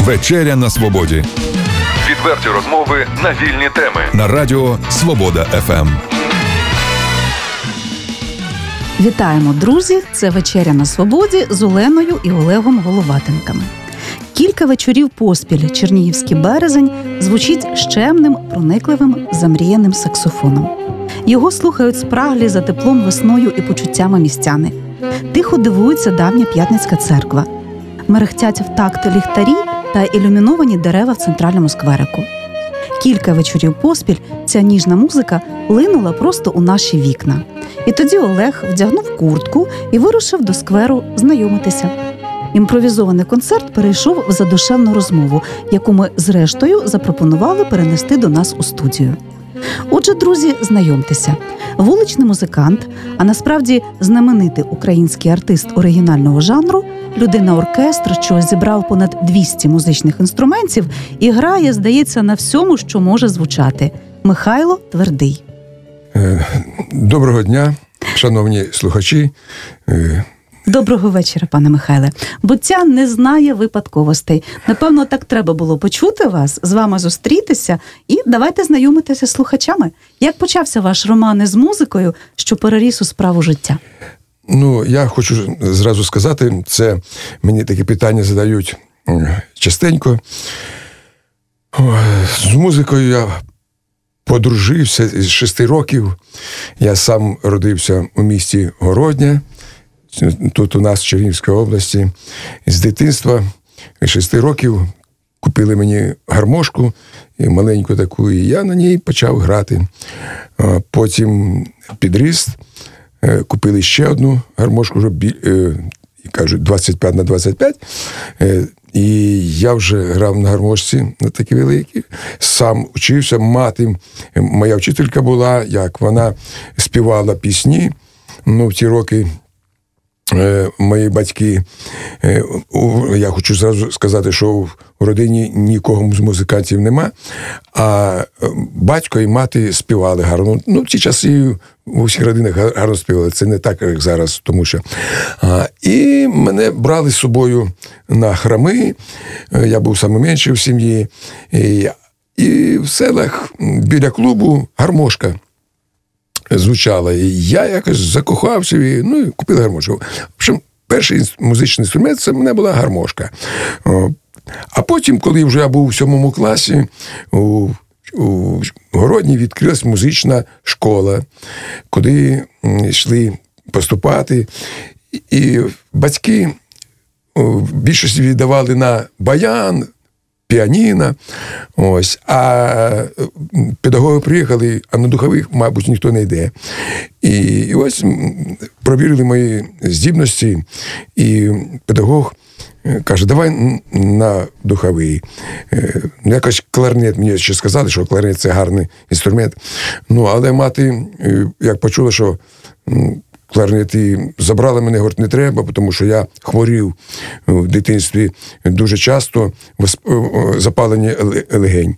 Вечеря на свободі. Відверті розмови на вільні теми. На радіо Свобода ФМ. Вітаємо, друзі! Це «Вечеря на свободі» з Оленою і Олегом Головатенками. Кілька вечорів поспіль Чернігівський березень звучить щемним, проникливим, замріяним саксофоном. Його слухають спраглі за теплом весною і почуттями містяни. Тихо дивується давня П'ятницька церква. Мерехтять в такт ліхтарі та ілюміновані дерева в центральному скверику. Кілька вечорів поспіль ця ніжна музика линула просто у наші вікна. І тоді Олег вдягнув куртку і вирушив до скверу знайомитися. Імпровізований концерт перейшов в задушевну розмову, яку ми, зрештою, запропонували перенести до нас у студію. Отже, друзі, знайомтеся. Вуличний музикант, а насправді знаменитий український артист оригінального жанру, людина-оркестр, що зібрав понад 200 музичних інструментів і грає, здається, на всьому, що може звучати. Михайло Твердий. Доброго дня, шановні слухачі. Доброго вечора, пане Михайле. Буття не знає випадковостей. Напевно, так треба було почути вас, з вами зустрітися і давайте знайомитися з слухачами. Як почався ваш роман із музикою, що переріс у справу життя? Я хочу зразу сказати, це мені такі питання задають частенько. З музикою я подружився з 6 років. Я сам родився у місті Городня, тут у нас в Чернігівській області. З дитинства 6 років купили мені гармошку, маленьку таку, і я на ній почав грати. Потім підріс, купили ще одну гармошку, вже, кажуть, 25 на 25. І я вже грав на гармошці, на такі великі. Сам учився, мати, моя вчителька була, як вона співала пісні. В ті роки мої батьки, я хочу зразу сказати, що в родині нікого з музикантів нема, а батько і мати співали гарно. В ті часи в усіх родинах гарно співали, це не так, як зараз, тому що. І мене брали з собою на храми, я був найменший в сім'ї, і в селах біля клубу гармошка звучала. І я якось закохався і купив гармошку. В общем, перший музичний інструмент – це в мене була гармошка. А потім, коли вже я був у 7 класі, у Городні відкрилась музична школа, куди йшли поступати. І батьки в більшості віддавали на баян, піаніно. А педагоги приїхали, а на духових, мабуть, ніхто не йде. І ось провірили мої здібності, і педагог каже, давай на духовий. Якось кларнет, мені ще сказали, що кларнет – це гарний інструмент. Але мати, як почула, що кларнет, і забрала мене, говорить, не треба, тому що я хворів в дитинстві дуже часто, запалення легень.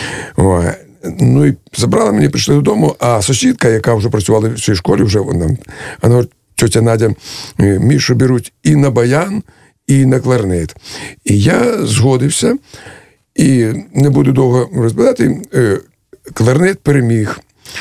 І забрала мене, прийшли додому, а сусідка, яка вже працювала в цій школі, вона говорить, тьотя Надя, Мішу беруть і на баян, і на кларнет. І я згодився, і не буду довго розповідати, кларнет переміг.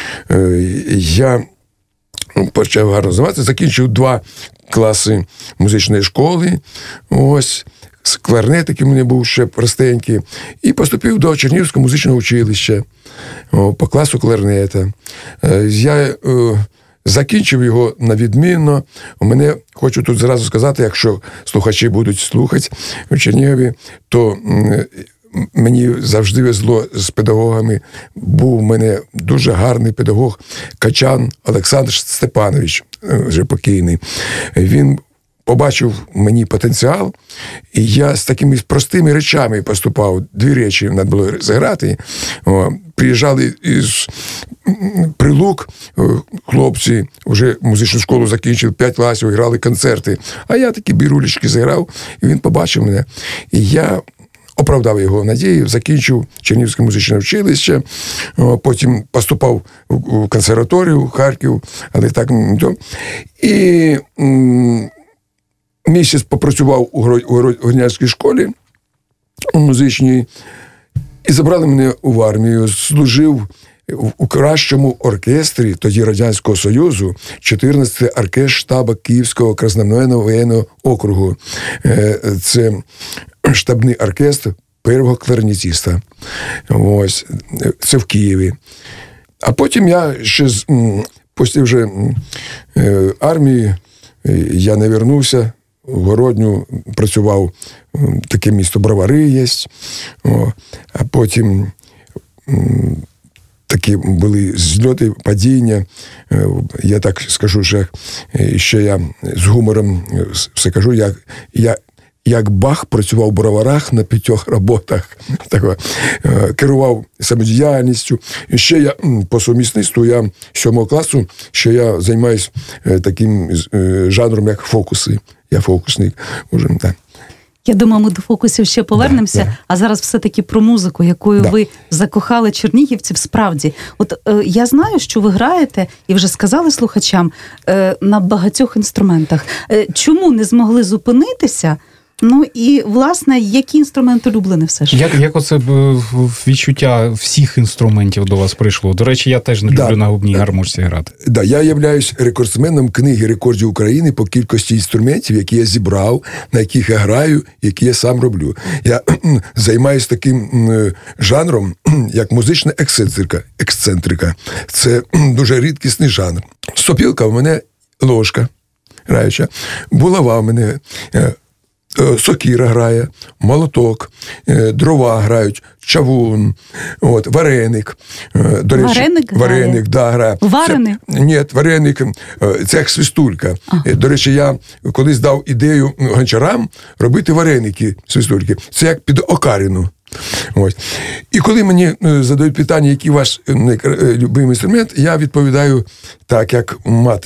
Я почав гарно займатися, закінчив 2 класи музичної школи, кларнет, який у мене був ще простенький, і поступив до Чернігівського музичного училища по класу кларнета. Я закінчив його на відмінно. У мене, хочу тут зразу сказати, якщо слухачі будуть слухати в Чернігові, то мені завжди везло з педагогами. Був у мене дуже гарний педагог Качан Олександр Степанович, вже покійний. Він побачив мені потенціал, і я з такими простими речами поступав. 2 речі треба було зіграти. Приїжджали із Прилук, хлопці, вже музичну школу закінчили, 5 класів, грали концерти. А я такі бірулечки зіграв, і він побачив мене. І я оправдав його надії, закінчив Чернігівське музичне училище, потім поступав у консерваторію, в Харків, але так. І місяць попрацював у Городнянській школі, музичній. І забрали мене в армію. Служив у кращому оркестрі тоді Радянського Союзу, 14-й оркестр штабу Київського красномовного воєнного округу. Це штабний оркестр першого кларнетиста. Ось. Це в Києві. А потім я ще після вже армії я не вернувся. В Городню працював, таке місто Бровари є. А потім такі були зльоти, падіння. Я так скажу, що ще я з гумором все кажу, як Бах працював в Броварах на 5 роботах. Керував самодіяльністю. І ще я по сумісництву, я 7 класу, ще я займаюся таким жанром, як фокуси. Я фокусник. Уже, так. Я думаю, ми до фокусів ще повернемося, а зараз все-таки про музику, якою ви закохали чернігівців справді. От я знаю, що ви граєте, і вже сказали слухачам, на багатьох інструментах. Чому не змогли зупинитися? Ну і, власне, який інструмент улюблений все ж? Як оце відчуття всіх інструментів до вас прийшло? До речі, я теж не люблю на губній гармошці грати. Я являюсь рекордсменом книги рекордів України по кількості інструментів, які я зібрав, на яких я граю, які я сам роблю. Я займаюся таким жанром, як музична ексцентрика. Це дуже рідкісний жанр. Сопілка в мене ложка граюча, булава в мене, сокира грає, молоток, дрова грають, чавун, вареник. До речі, вареник, грає. Вареник? Ні, вареник, це як свистулька. До речі, я колись дав ідею гончарам робити вареники, свистульки. Це як під окарину. Ось. І коли мені задають питання, який ваш любимий інструмент, я відповідаю так, як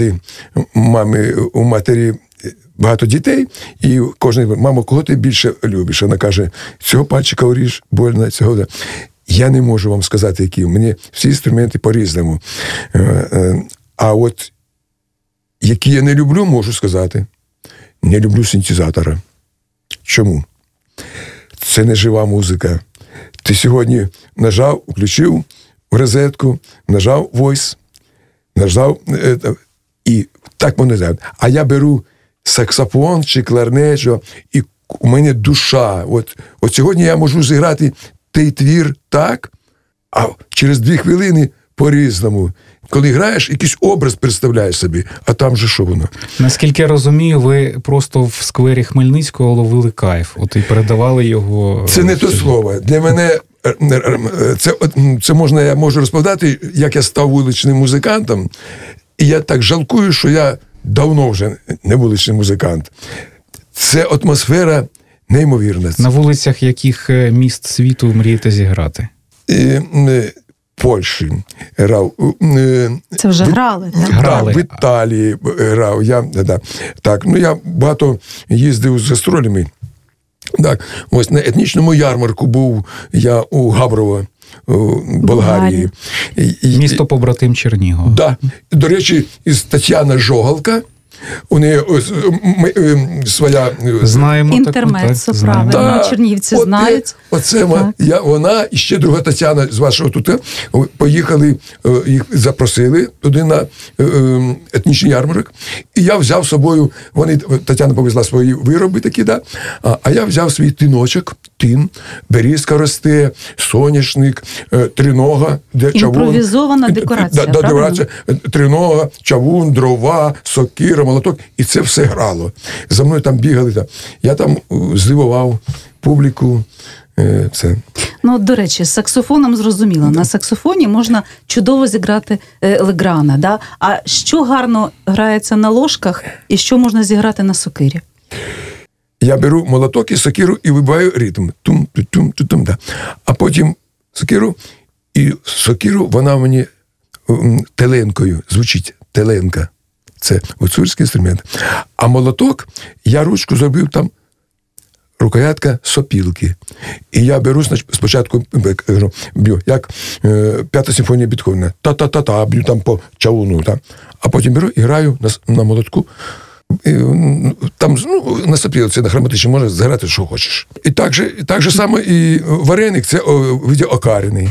у матері багато дітей, і кожен, мамо, кого ти більше любиш? Вона каже, цього пальчика уріж, больно, цього. Я не можу вам сказати, які. Мені всі інструменти по-різному. А от які я не люблю, можу сказати. Не люблю синтезатора. Чому? Це не жива музика. Ти сьогодні нажав, включив в розетку, нажав voice, нажав, і так воно не. А я беру саксофон чи кларнет, і у мене душа. От сьогодні я можу зіграти той твір так, а через 2 хвилини по-різному. Коли граєш, якийсь образ представляєш собі, а там же що воно? Наскільки я розумію, ви просто в сквері Хмельницького ловили кайф, і передавали його... Це не то слово. Для мене це можна, я можу розповідати, як я став вуличним музикантом, і я так жалкую, що я давно вже не вуличний музикант. Це атмосфера неймовірна. На вулицях яких міст світу мрієте зіграти? Польщі грав. Це вже грали? Так, в Італії грав. Я багато їздив з гастролями. Так, ось на етнічному ярмарку був я у Габрово, Болгарії. Місто побратим Чернігова. Да. До речі, із Тетяна Жогалка, у неї своя... Знаємо. Інтермеццо, правильно. Чернігівці знають. Вона і ще друга Тетяна з вашого тут поїхали, їх запросили туди на етнічний ярмарок. І я взяв з собою, Тетяна повезла свої вироби такі, а я взяв свій тиночок, берізка росте, соняшник, тринога, імпровізована декорація, правильно? Тринога, чавун, дрова, сокира, молоток, і це все грало. За мною там бігали. Я там здивував публіку. Це. До речі, з саксофоном зрозуміло. На саксофоні можна чудово зіграти Леграна. Да? А що гарно грається на ложках і що можна зіграти на сокирі? Я беру молоток і сокиру і вибиваю ритм. Тум-тум-тум-тум. Да. А потім сокиру, вона мені теленкою звучить. Теленка. Це гуцульський інструмент. А молоток, я ручку зробив там рукоятка сопілки. І я беру спочатку, б'ю, як 5-та симфонія Бетховена. Та-та-та-та, б'ю там по чавуну. А потім беру і граю на молотку там, на сопілці, на хроматичній можна зграти, що хочеш. І так же саме і вареник, це виді окарини.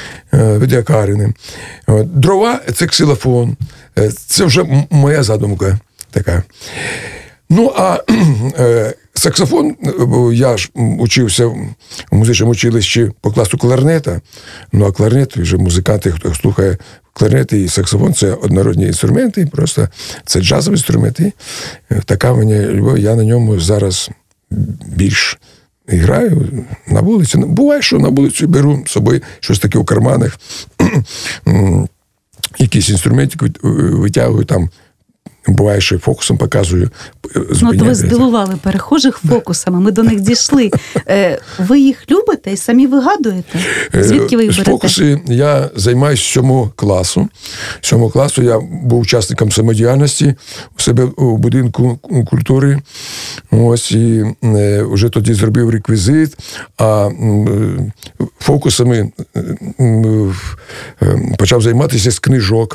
Дрова – це ксилофон. Це вже моя задумка така. Ну, а саксофон, я ж учився в музичному училищі по класу кларнета, ну, а кларнет, вже музиканти, хто слухає кларнет і саксофон, це однородні інструменти, просто це джазові інструменти. Така мені любов, я на ньому зараз більш граю на вулиці. Буває, що на вулицю беру з собою щось таке у карманах, якісь інструменти витягую там, буває, що фокусом показую. Ну, то ви здивували перехожих фокусами, ми до них дійшли. Ви їх любите і самі вигадуєте? Звідки ви їх берете? Фокуси я займаюся з 7 класу. З 7 класу я був учасником самодіяльності у себе у будинку культури. Ось, і вже тоді зробив реквізит, а фокусами почав займатися з книжок.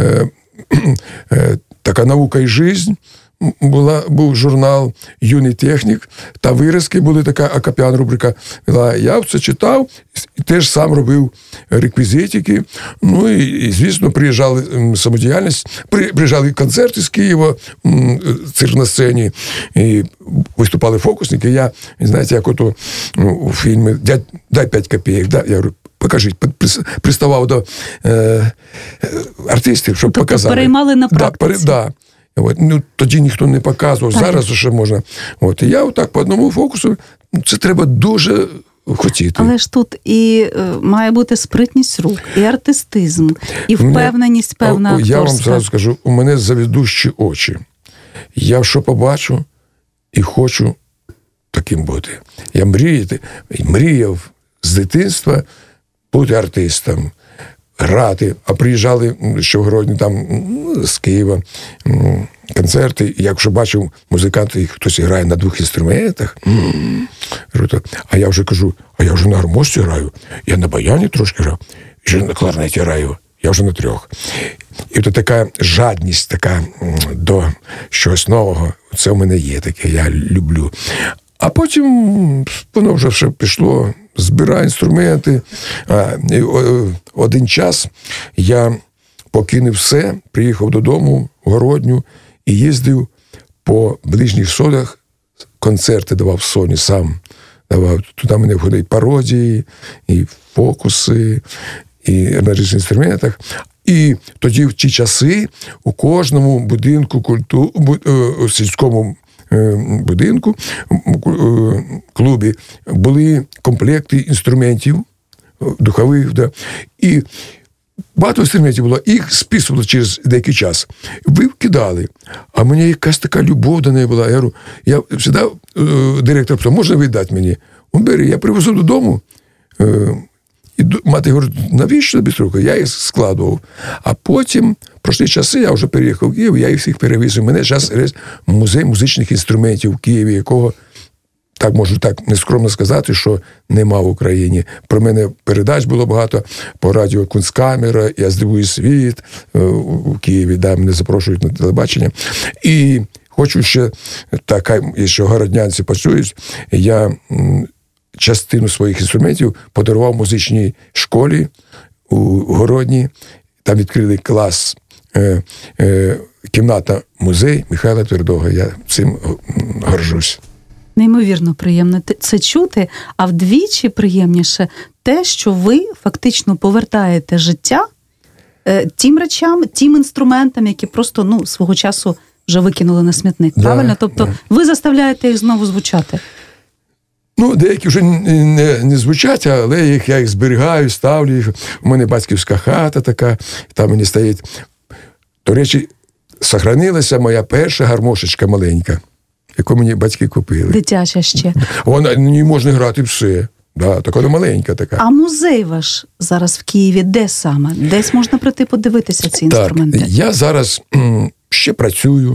Така наука і жизнь був журнал «Юний технік», та виразки були, така акапіан рубрика. Я це читав і теж сам робив реквізитики. Ну і звісно, приїжджали самодіяльність, приїжджали концерти з Києва, цирк на сцені, і виступали фокусники. Я, знаєте, як ото у фільмі «Дай 5 копійок», да? Я говорю, покажіть, приставав до артистів, щоб показали. Переймали на практиці. Да. Ну, тоді ніхто не показував, зараз ще можна. І я отак по одному фокусу, це треба дуже хотіти. Але ж тут і має бути спритність рук, і артистизм, і впевненість певна акторська. Я вам зразу скажу, у мене завідущі очі. Я що побачу і хочу таким бути. Я мріяв з дитинства бути артистом, грати, а приїжджали ще в Гродні там з Києва концерти, і якщо бачив музиканти, хтось грає на 2 інструментах, круто. А я вже кажу, а я вже на гармошці граю, я на баяні трошки граю, і вже на кларнеті граю, я вже на 3. І от така жадність така до чогось нового, це в мене є таке, я люблю. А потім воно вже все пішло, збираю інструменти. Один час я покинув все, приїхав додому в Городню і їздив по ближніх сходах, концерти давав в Соні сам. Туди мене входять пародії, і фокуси, і на різних інструментах. І тоді в ті часи у кожному будинку сільському будинку, клубі, були комплекти інструментів духових, да, і багато інструментів було, їх списували через деякий час. Ви вкидали, а мені якась така любов до неї була. Я говорю, я завжди директор питав, можна віддати мені? Он бери, я привезу додому, і мати говорить, навіщо тобі струки? Я їх складував. А потім, пройшли часи, я вже переїхав в Київ, я їх всіх перевіз. У мене зараз музей музичних інструментів в Києві, якого, так можу так нескромно сказати, що нема в Україні. Про мене передач було багато по радіо «Кунсткамера», «Я здивую світ» у Києві, да, мене запрошують на телебачення. І хочу ще, так, якщо городнянці почують, я частину своїх інструментів подарував музичній школі у Городні. Там відкрили клас, кімната-музей Михайла Твердого. Я цим горжусь. Неймовірно приємно це чути, а вдвічі приємніше те, що ви фактично повертаєте життя тим речам, тим інструментам, які просто, свого часу вже викинули на смітник. Да, правильно? Тобто ви заставляєте їх знову звучати. Деякі вже не звучать, але я їх зберігаю, ставлю їх. У мене батьківська хата така, там мені стоїть. До речі, сохранилася моя перша гармошечка маленька, яку мені батьки купили. Дитяча ще. Вона, не можна грати все. Да, так вона маленька така. А музей ваш зараз в Києві де саме? Десь можна прийти подивитися ці інструменти? Так, я зараз ще працюю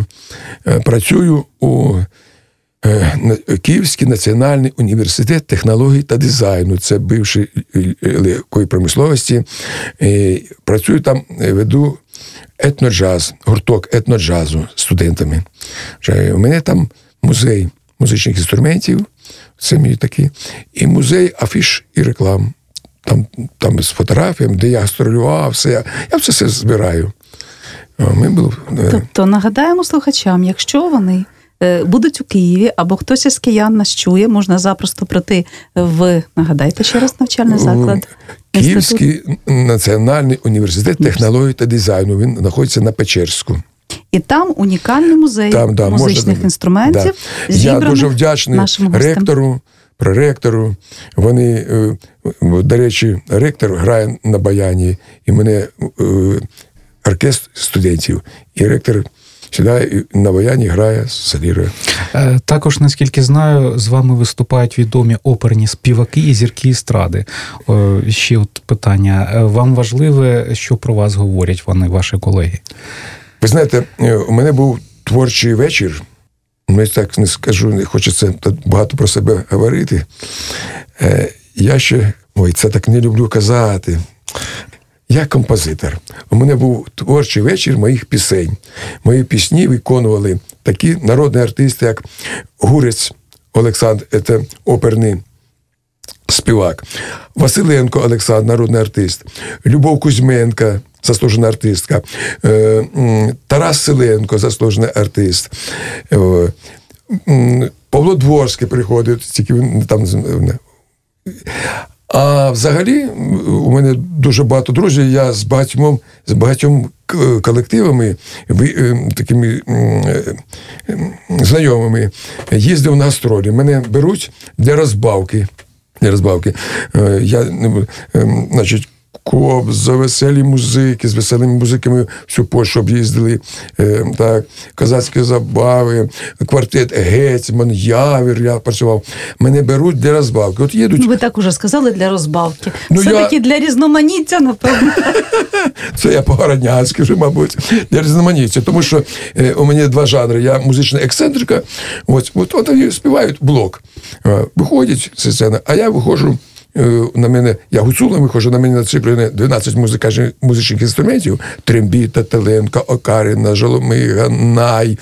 у Київський національний університет технологій та дизайну. Це бивший легкої промисловості. Працюю там, веду етноджаз, гурток етноджазу з студентами. У мене там музей музичних інструментів, це мій такий, і музей афіш і реклам. Там з фотографіями, де я гастролював, все. Я все збираю. Тобто нагадаємо слухачам, якщо вони будуть у Києві, або хтось із киян нас чує, можна запросто прийти нагадайте ще раз, навчальний заклад. Київський національний університет технології та дизайну. Він знаходиться на Печерську. І там унікальний музей музичних інструментів. Я дуже вдячний проректору. Вони, до речі, ректор грає на баяні, і мене оркестр студентів, і ректор сідає на баяні, грає, солірує. Також, наскільки знаю, з вами виступають відомі оперні співаки і зірки естради. Ще от питання. Вам важливе, що про вас говорять вони, ваші колеги? Ви знаєте, у мене був творчий вечір. Я так не скажу, не хочеться багато про себе говорити. Я ще, це так не люблю казати. Я композитор. У мене був творчий вечір моїх пісень. Мої пісні виконували такі народні артисти, як Гурець Олександр, це оперний співак, Василенко Олександр, народний артист, Любов Кузьменка, заслужена артистка, Тарас Селенко, заслужений артист, Павло Дворський приходить, тільки він там. А взагалі у мене дуже багато друзів, я з багатьом колективами, такими знайомими їздив на гастролі. Мене беруть для розбавки. Я, значить, за веселі музики, з веселими музиками всю Польщу об'їздили, так, козацькі забави, квартет Гетьман, Явір, я працював. Мене беруть для розбавки. От їдуть... Ви так уже сказали, для розбавки. Все-таки для різноманіття, напевно. Це я по-городнянськи вже, мабуть, для різноманіття. Тому що у мене два жанри. Я музична ексцентрика, от вони співають блок. Виходять зі сцени, а я виходжу, на мене, я гуцулом виходжу, на мене націплені 12 музичних інструментів: трембіта, теленка, окарина, жоломига, най,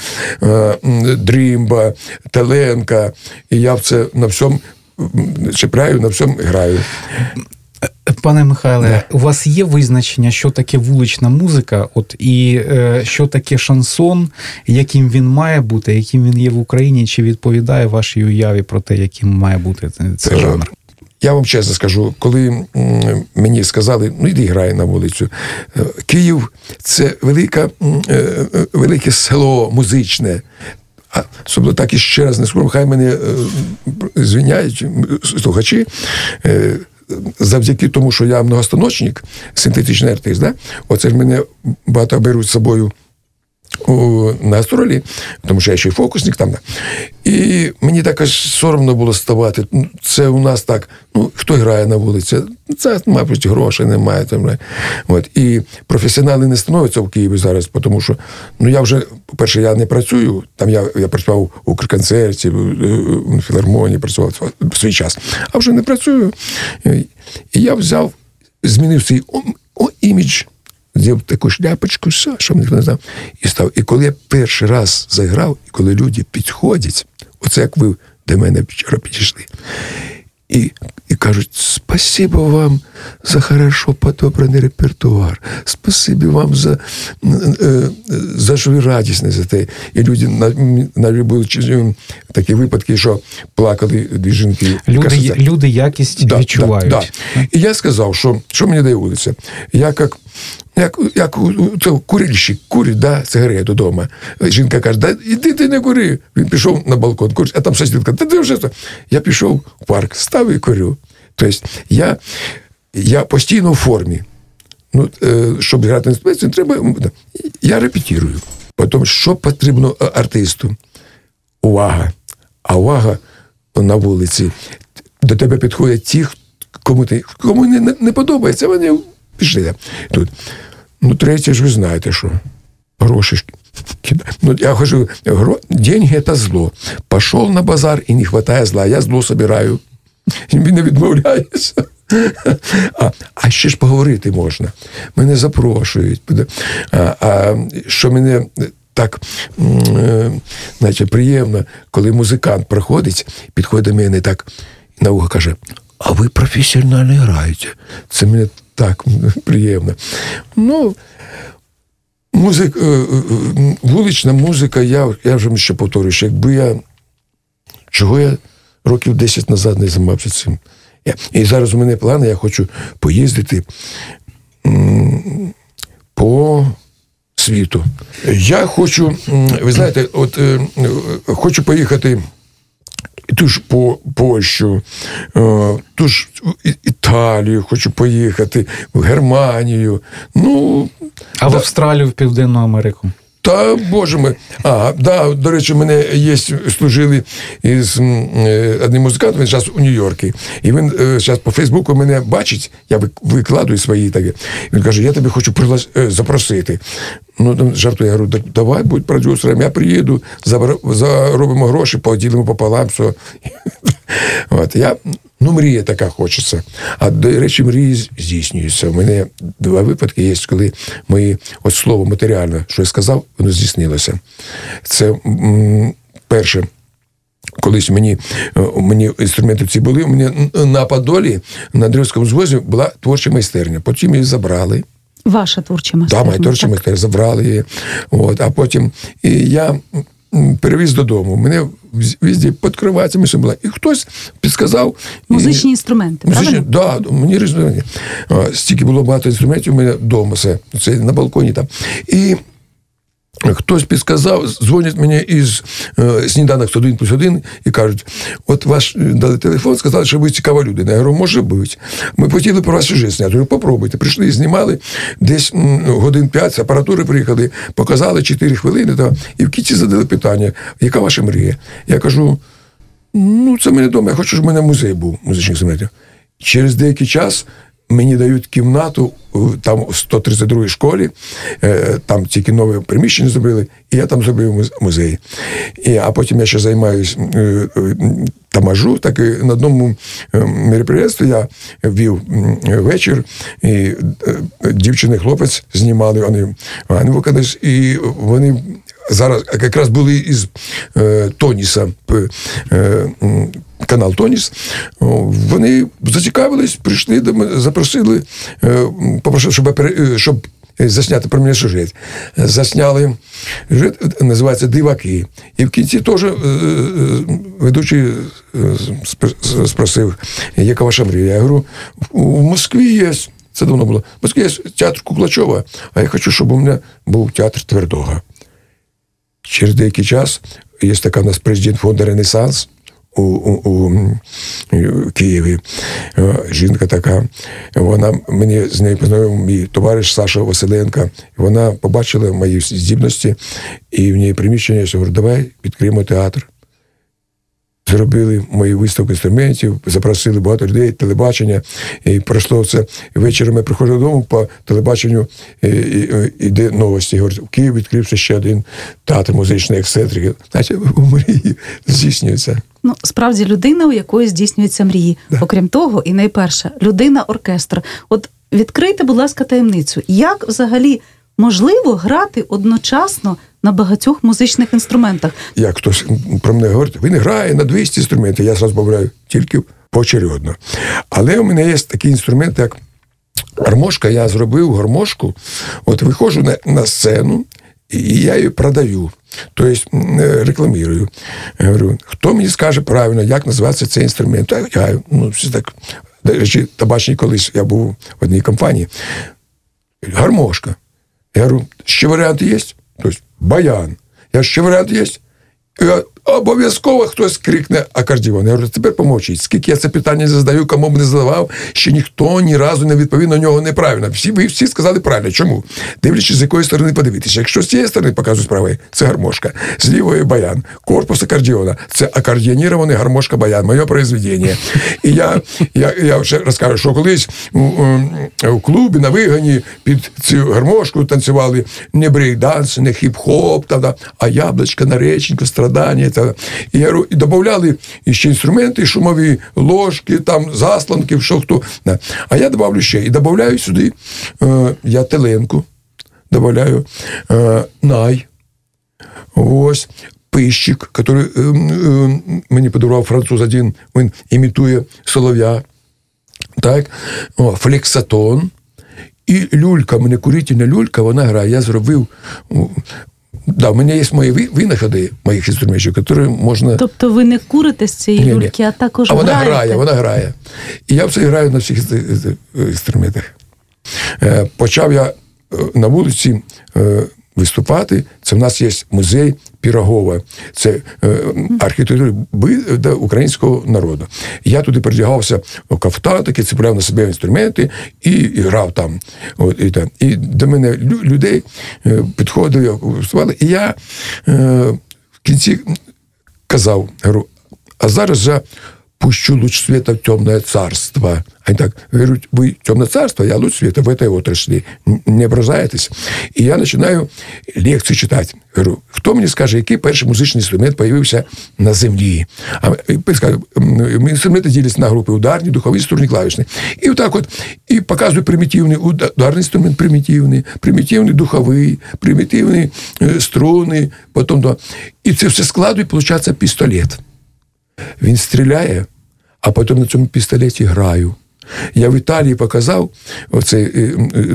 дрімба, теленка. І я на всьому чіпляю, на всьому граю. Пане Михайле, у вас є визначення, що таке вулична музика, і що таке шансон, яким він має бути, яким він є в Україні, чи відповідає вашій уяві про те, яким має бути цей жанр? Я вам чесно скажу, коли мені сказали, іди грай на вулицю. Київ – це велике село музичне. Особливо так і ще раз не скажу, хай мене звиняють слухачі, завдяки тому, що я многостаночник, синтетичний артист, оце ж мене багато беруть з собою на гастролі, тому що я ще й фокусник там. І мені так аж соромно було ставати. Це у нас так, хто грає на вулиці? Це, мабуть, грошей немає. І професіонали не становляться в Києві зараз, тому що, я вже, по-перше, я не працюю, там я працював у Укрконцерті, в філармонії, працював в свій час, а вже не працюю. І я змінив свій імідж, зробив таку шляпочку, щоб ніхто не знав, і став. І коли я перший раз заграв, і коли люди підходять, оце як ви до мене вчора підійшли, і кажуть: спасибо вам за хорошо подобраний репертуар, спасибо вам за що ви радісні за те. І люди були такі випадки, що плакали дві жінки. Люди якість відчувають. Да. І я сказав, що мені дає вулиця. Я як курильщик курить, сигарету вдома. Жінка каже: іди ти не кури. Він пішов на балкон, курить, а там сусідка: ти вже. Я пішов в парк, став і курю. Тобто я постійно в формі. Щоб грати на інструменті, треба. Я репетирую. Потім, що потрібно артисту? Увага. А увага на вулиці. До тебе підходять ті, кому не подобається, вони пішли. Тут. Третє ж ви знаєте, що гроші кидають. Я кажу, деньги – це зло. Пішов на базар і не вистачає зла. Я зло збираю. І він не відмовляється. А ще ж поговорити можна. Мене запрошують. Що мене так, значить, приємно, коли музикант проходить, підходить до мене так на вухо каже: а ви професіонально граєте. Це мені так приємно. Ну, вулична музика, я вже ще повторюю, що якби чого я років 10 назад не займався цим. І зараз у мене плани, я хочу поїздити по світу. Я хочу, ви знаєте, хочу поїхати ту ж по Польщу, ту ж Італію, хочу поїхати, в Германію. Ну, а в Австралію, в Південну Америку? Та, Боже мій. До речі, мене служили із одним музикантом, він зараз у Нью-Йорку. І він зараз по Фейсбуку мене бачить, я викладую свої такі. Він каже: я тебе хочу запросити. Ну, там жартую, я говорю: давай, будь продюсером, я приїду, заробимо гроші, поділимо пополам, все. Мрія така хочеться. А, до речі, мрії здійснюються. У мене 2 випадки є, коли слово матеріальне, що я сказав, воно здійснилося. Це перше. Колись мені інструменти ці були, у мене на Подолі, на Андріївському звозі була творча майстерня. Потім її забрали. Ваша творча майстерня? Так, моя творча майстерня, забрали її. А потім я перевіз додому. Мене везде під кроватями все було. І хтось підказав. Музичні інструменти, правильно? Так, мені інструменти. Стільки було багато інструментів у мене вдома все. Це на балконі там. І хтось підказав, дзвонять мені із сніданок 1+1 і кажуть: от ваш дали телефон, сказали, що ви цікава людина. Я говорю: може бути. Ми хотіли про вас сюжет зняти. Я говорю: попробуйте. Прийшли, знімали, десь годин 5 з апаратури приїхали, показали 4 хвилини, і в кінці задали питання: яка ваша мрія? Я кажу: це мене вдома, я хочу, щоб в мене музей був музичних інструментів. Через деякий час мені дають кімнату там в 132-й школі, там тільки нове приміщення зробили, і я там зробив музей. А потім я ще займаюся тамажу, так і на одному мероприємстві я вів вечір, і дівчина і хлопець знімали, вони виконались, і вони зараз якраз були із Тоніса, канал Тоніс, вони зацікавились, прийшли до мене, запросили, попросили, щоб засняти про мене сюжет. Засняли сюжет, називається «Диваки». І в кінці теж ведучий спросив: яка ваша мрія? Я говорю: в Москві є, це давно було, в Москві є театр Куклачова, а я хочу, щоб у мене був театр Твердого. Через деякий час є така у нас президент фонду «Ренесанс» у Києві. Жінка така. Мені з нею познайомив мій товариш Саша Василенко. Вона побачила мої здібності, і в неї приміщення, я говорю: давай відкриємо театр. Зробили мої виставки інструментів, запросили багато людей, телебачення, і пройшло це. Ввечері ми приходили додому, по телебаченню йде новості. Говорять: в Києві відкрився ще один театр музичної ексцентрики. Значить, у мрії здійснюється. Справді, людина, у якої здійснюються мрії. Да. Окрім того, і найперше, людина-оркестр. От відкрийте, будь ласка, таємницю. Як взагалі можливо грати одночасно на багатьох музичних інструментах? Як хтось про мене говорить: він грає на 200 інструментів, я зразу говорю тільки поочередно. Але у мене є такий інструмент, як гармошка. Я зробив гармошку, виходжу на сцену, і я її продаю. Тобто рекламую. Я говорю: хто мені скаже правильно, як називається цей інструмент? Все так. До речі, табачний колись я був в одній компанії. Гармошка. Я говорю: ще варіанти є? Тобто баян. Я ще варіанти є? Обов'язково хтось крикне акордіон. Я говорю: тепер помовчіть. Скільки я це питання задаю, кому б не задавав, ще ніхто ні разу не відповів на нього неправильно. Ви всі сказали правильно. Чому? Дивлячись, з якої сторони подивитися. Якщо з цієї сторони показую з правої, це гармошка. З лівої баян. Корпус акордіона. Це акордіонірований гармошка-баян. Моє произведення. І я вже розкажу, що колись у клубі на вигані під цю гармошку танцювали не брейк-данс, не хіп-хоп, а яблочко на реченьку, страдання. І додавали ще інструменти, шумові, ложки, там, заслонки, що хто. А я додавлю ще. І додавляю сюди я теленку, додавляю най, ось, пищик, який мені подарував француз один, він імітує солов'я, так, флексатон, і люлька, мене курительна люлька, вона грає, я зробив, да, в мене є мої винаходи моїх інструментів, які можна... Тобто ви не курите з цієї люльки, а також граєте? Вона грає. І я все граю на всіх інструментах. Почав я на вулиці виступати. Це в нас є музей Пірогова. Це архітектура українського народу. Я туди передягався в кафтан, такий цепляв на себе інструменти і грав там. І до мене людей підходили, виступали. І я в кінці казав, говорю, а зараз же пущу луч света в темное царство. Они так говорят, вы темное царство, я луч света в этой отрасли. Не ображаетесь? И я начинаю лекції читати. Говорю, хто мені скаже, який перший музичний інструмент появився на землі? А інструменти діляться на групи ударні, духові, струнні, клавішні. І отак от, і показую примітивний ударний інструмент, примітивний духовий, примітивний струни, потім, і це все складує, виходить, пістолет. Він стріляє, а потім на цьому пістолеті граю. Я в Італії показав оцей,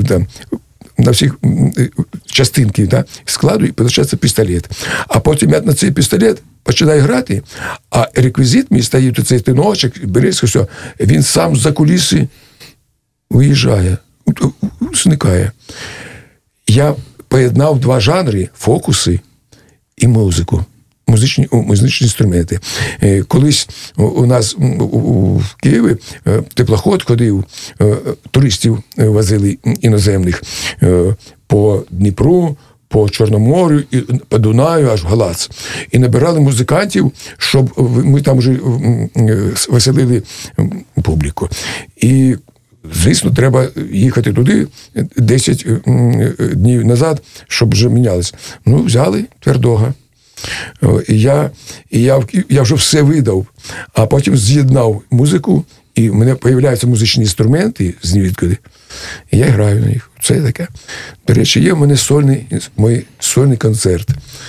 на всіх частинки складу, і виходить пістолет. А потім я на цей пістолет починаю грати, а реквізит мій стоїть, оцей тиночок, береться, все, він сам з-за куліси виїжджає, зникає. Я поєднав два жанри, фокуси і музику. Музичні інструменти. Колись у нас в Києві теплоход ходив, туристів возили іноземних по Дніпру, по Чорноморю, і по Дунаю, аж в Галац. І набирали музикантів, щоб ми там вже веселили публіку. І, звісно, треба їхати туди 10 днів назад, щоб вже мінялися. Ну, взяли Твердого. І я вже все видав, а потім з'єднав музику, і в мене з'являються музичні інструменти з нізвідкуди, і я граю на них. Це таке. До речі, є в мене сольний концерт.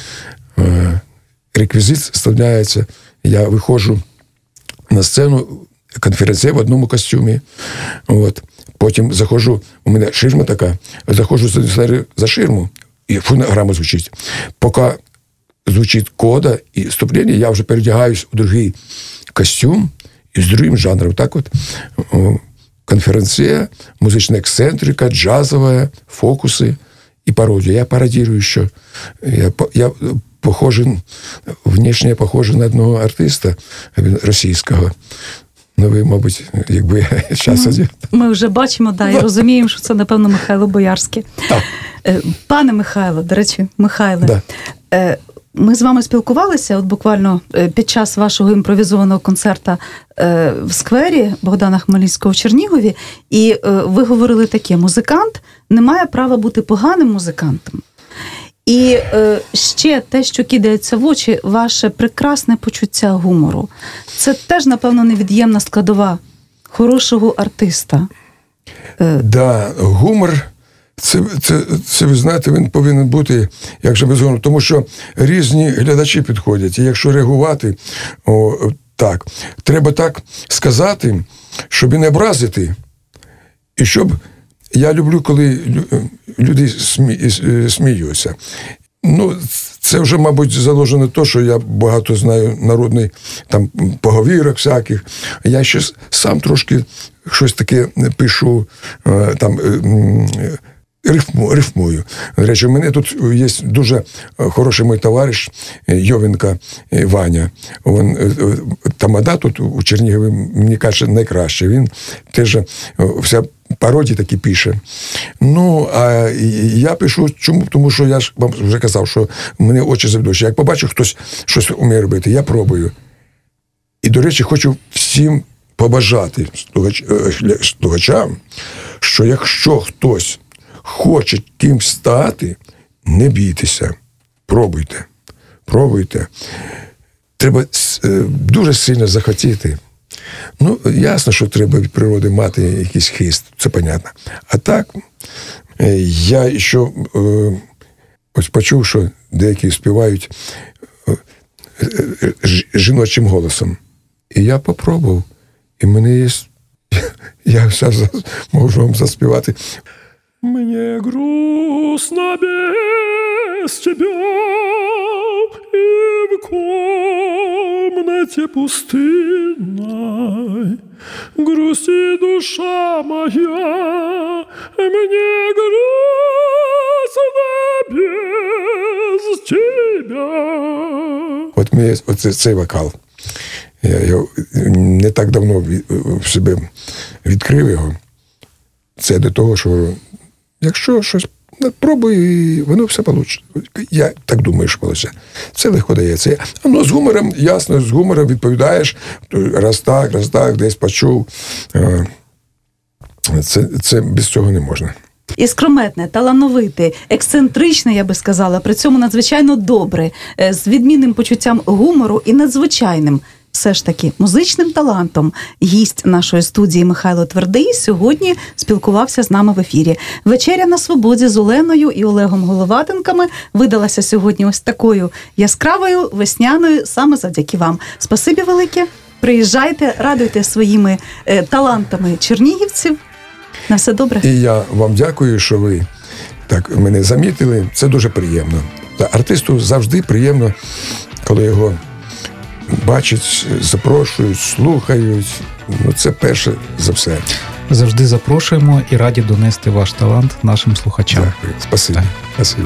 Реквізит вставляється, я виходжу на сцену, конференція в одному костюмі. От. Потім заходжу, у мене ширма така, заходжу за ширму, і фонограма звучить. Поки звучить кода і вступлення, я вже передягаюсь у другий костюм і з другим жанром. Так от, конференція, музична ексцентрика, джазова, фокуси і пародія. Я пародірую, що я похожий, внешне я похожий на одного артиста російського. Ну, ви, мабуть, якби час. Ми вже бачимо, і розуміємо, що це, напевно, Михайло Боярський. Пане Михайло, до речі, Михайле, ми з вами спілкувалися от буквально під час вашого імпровізованого концерту в сквері Богдана Хмельницького в Чернігові, і ви говорили таке: музикант не має права бути поганим музикантом. І ще те, що кидається в очі, ваше прекрасне почуття гумору. Це теж, напевно, невід'ємна складова хорошого артиста. Гумор, це, ви знаєте, він повинен бути, як же без гумору, тому що різні глядачі підходять. І якщо реагувати, так, треба так сказати, щоб і не образити, і щоб... Я люблю, коли люди сміються. Ну, це вже, мабуть, заложено те, що я багато знаю народних там поговірок всяких. Я ще сам трошки щось таке пишу, там, рифмую. До речі, у мене тут є дуже хороший мій товариш Йовенко Ваня. Він тамада тут у Чернігові, мені каже, найкраще. Він теж вся пародії такі пише. Ну, а я пишу, чому? Тому що я ж вам вже казав, що в мене очі завдовжі. Як побачу, хтось щось вміє робити, я пробую. І, до речі, хочу всім побажати слухачам, що якщо хтось хоче ким стати, не бійтеся. Пробуйте. треба дуже сильно захотіти. Ну, ясно, що треба від природи мати якийсь хист, це понятно. А так, я ще ось почув, що деякі співають жіночим голосом. І я попробував. І мене є... Я зараз можу вам заспівати. Мені грустно без тебя, и в комнате пустынной грустит душа моя, мне грустно без тебя. От мені цей вокал. Я не так давно в себе відкрив його. Це до того, що якщо щось пробуй, воно все вийде. Я так думаю, що вийде. Це легко дається. Ну, з гумором, ясно, з гумором відповідаєш. Раз так, десь почув. Це без цього не можна. Іскрометне, талановите, ексцентричне, я би сказала, при цьому надзвичайно добре, з відмінним почуттям гумору і надзвичайним, все ж таки, музичним талантом. Гість нашої студії Михайло Твердий сьогодні спілкувався з нами в ефірі. Вечеря на свободі з Оленою і Олегом Головатенками видалася сьогодні ось такою яскравою, весняною, саме завдяки вам. Спасибі велике. Приїжджайте, радуйте своїми талантами чернігівців. На все добре. І я вам дякую, що ви так мене замітили. Це дуже приємно. Та артисту завжди приємно, коли його бачать, запрошують, слухають. Ну, це перше за все. Завжди запрошуємо і раді донести ваш талант нашим слухачам. Дякую. Спасибі. Спасибі.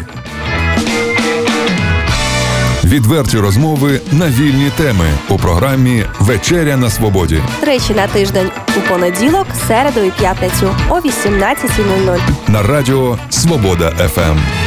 Відверті розмови на вільні теми у програмі «Вечеря на свободі». Тричі на тиждень у понеділок, середу і п'ятницю о 18:00. На радіо «Свобода ФМ».